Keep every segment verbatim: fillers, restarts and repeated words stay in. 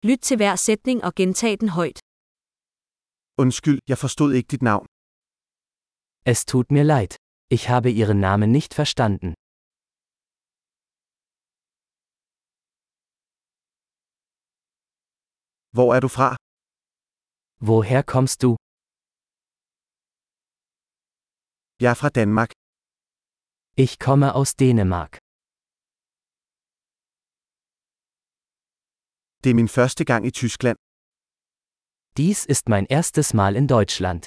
Lyt til hver sætning og gentag den højt. Undskyld, jeg forstod ikke dit navn. Es tut mir leid. Ich habe Ihren Namen nicht verstanden. Hvor er du fra? Woher kommst du? Jeg er fra Danmark. Ich komme aus Dänemark. Det er min første gang i Tyskland. Dies ist mein erstes Mal in Deutschland.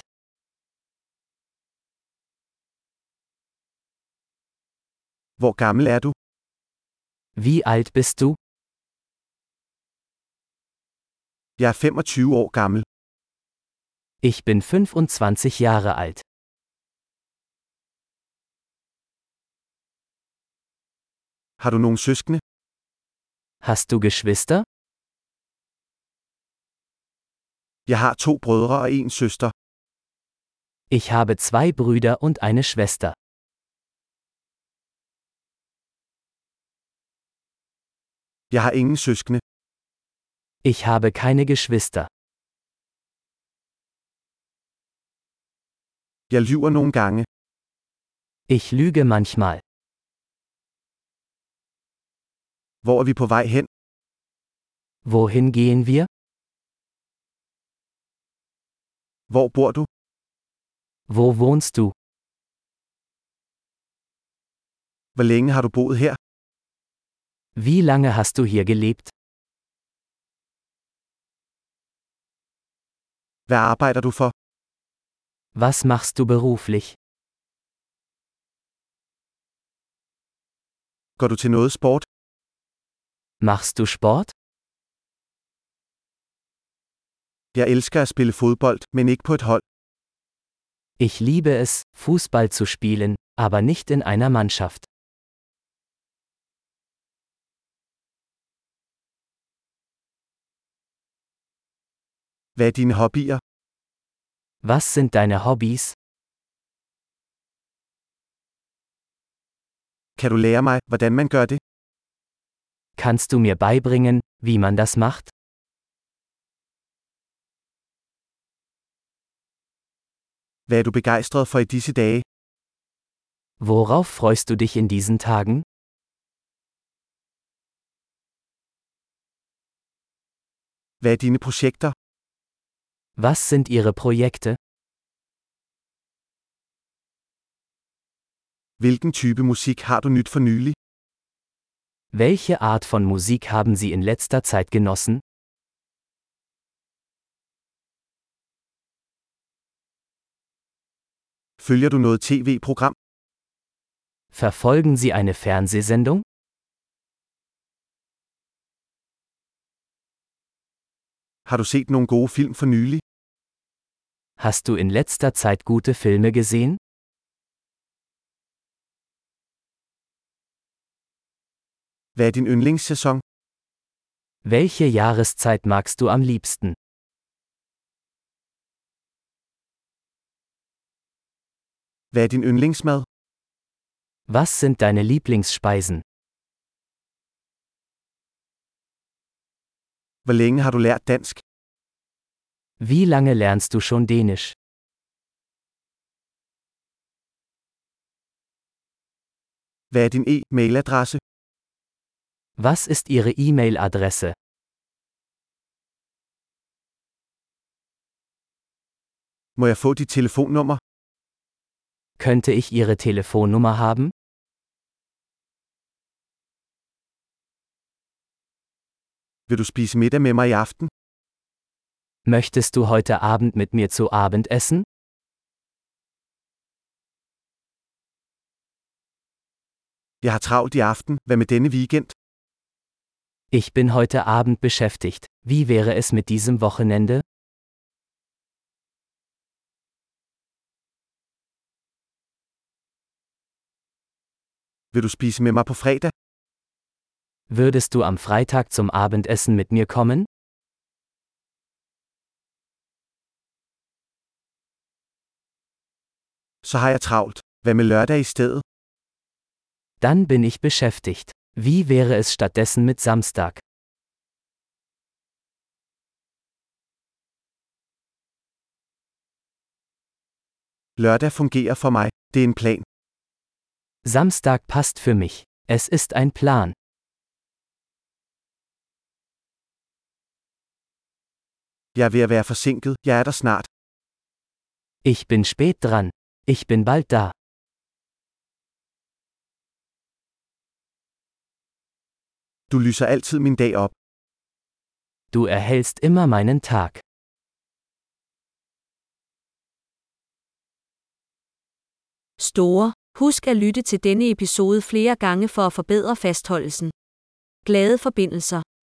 Hvor gammel er du? Wie alt bist du? Jeg er femogtyve år gammel. Ich bin fünfundzwanzig Jahre alt. Har du nogen søskende? Hast du Geschwister? Jeg har to brødre og en søster. Ich habe zwei Brüder und eine Schwester. Jeg har ingen søskende. Ich habe keine Geschwister. Jeg lyver nogle gange. Ich lüge manchmal. Hvor er vi på vej hen? Wohin gehen wir? Hvor bor du? Wo wohnst du? Hvor længe har du boet her? Wie lange hast du hier gelebt? Hvad arbejder du for? Was machst du beruflich? Går du til noget sport? Machst du Sport? Jeg elsker at spille fodbold, men ikke på et hold. Ich liebe es, Fußball zu spielen, aber nicht in einer Mannschaft. Hvad er dine hobbyer? Was sind deine Hobbys? Kan du lære mig, hvordan man gør det? Kannst du mir beibringen, wie man das macht? Hvad er du begejstret for i disse dage? Worauf freust du dich in diesen Tagen? Hvad er dine projekter? Was sind Ihre Projekte? Hvilken type musik har du nyt for nylig? Welche Art von Musik haben Sie in letzter Zeit genossen? Følger du noget tv-program? Verfolgen Sie eine Fernsehsendung? Har du set nogle gode film for nylig? Hast du in letzter Zeit gute Filme gesehen? Hvad er din yndlingssæson? Welche Jahreszeit magst du am liebsten? Hvad er din yndlingsmad? Was sind deine Lieblingsspeisen? Hvor længe har du lært dansk? Wie lange lernst du schon Dänisch? Hvad er din e-mailadresse? Was ist Ihre E-Mail-Adresse? Må jeg få dit telefonnummer? Könnte ich Ihre Telefonnummer haben? Vil du spise middag med mig i aften? Möchtest du heute Abend mit mir zu Abend essen? Jeg har travlt i aften, hvad med denne weekend? Ich bin heute Abend beschäftigt. Wie wäre es mit diesem Wochenende? Vil du spise med mig på fredag? Würdest du am Freitag zum Abendessen mit mir kommen? Så har jeg travlt. Hvad med lørdag i stedet? Dann bin ich beschäftigt. Wie wäre es stattdessen mit Samstag? Lørdag fungerer for mig. Det er en plan. Samstag passt für mich. Es ist ein Plan. Jeg er ved at være forsinket. Jeg er der snart. Ich bin spät dran. Ich bin bald da. Du lyser altid min dag op. Du erhellst immer meinen Tag. Store. Husk at lytte til denne episode flere gange for at forbedre fastholdelsen. Glade forbindelser.